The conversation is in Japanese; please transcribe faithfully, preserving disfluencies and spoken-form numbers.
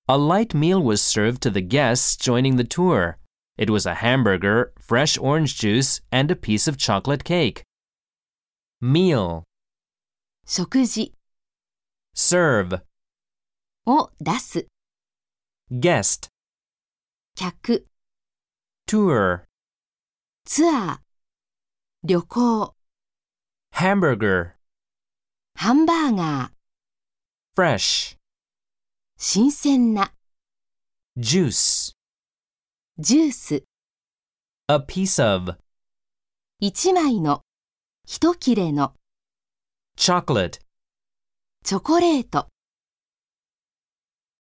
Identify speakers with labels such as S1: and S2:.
S1: A light meal was served to the guests joining the tour. It was a hamburger, fresh orange juice, and a piece of chocolate cake. Meal,
S2: 食事
S1: serve,
S2: を出す
S1: guest,
S2: 客
S1: tour,
S2: ツアー旅行
S1: hamburger,
S2: ハンバーガー
S1: fresh,
S2: 新鮮な
S1: juice,
S2: ジュース
S1: a piece of,
S2: 一枚の一切れの
S1: chocolate.
S2: チョコレート